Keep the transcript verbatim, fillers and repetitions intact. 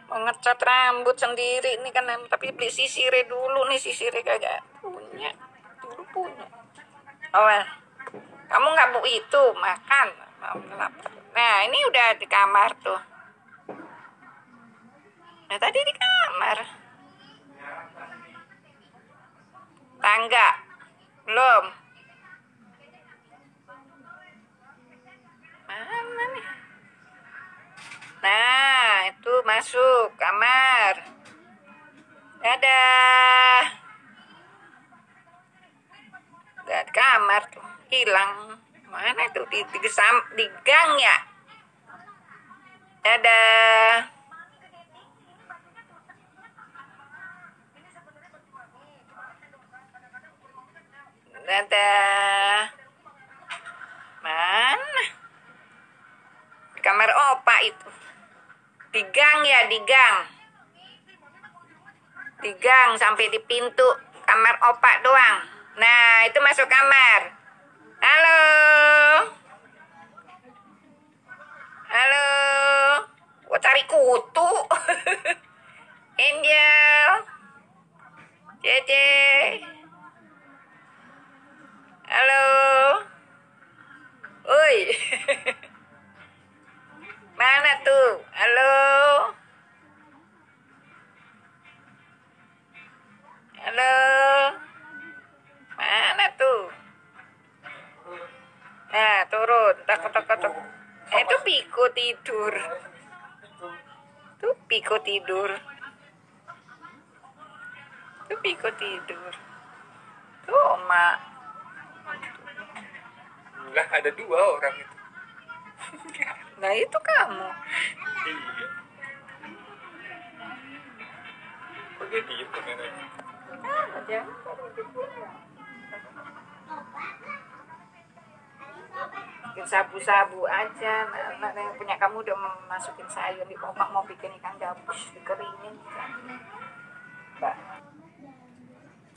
Mau ngecat rambut sendiri nih kan, tapi beli sisirnya dulu nih, sisirnya kagak punya, dulu punya. Oh, kamu nggak bu itu makan, mau lapar. Nah ini udah di kamar tuh. Nah tadi di kamar. Tangga belum. Mana nih? Nah itu masuk kamar. Dadah. Udah di kamar tuh, hilang. Mana tuh di, di, di gang ya? Dadah. Dadah. Mana? Di kamar opa itu. Di gang ya, di gang. Di gang sampai di pintu kamar opa doang. Nah, itu masuk kamar. Halo. Halo. Gua cari kutu. Angel. Cece. Halo. Oi. Mana tuh? Halo. Halo. Mana tuh? Nah, turun. Tak tak tak. Eh, itu Piko tidur. Tuh Piko tidur. Tuh Piko tidur. Tuh Oma. Lah ada dua orang itu. Nah itu kamu. Iya. Kok dia diem pengennya? Ah, jangan. Bikin sabu-sabu aja. Nah, nah, yang punya kamu udah masukin sayur di opak, mau bikin ikan gabus dikeringin. Mbak.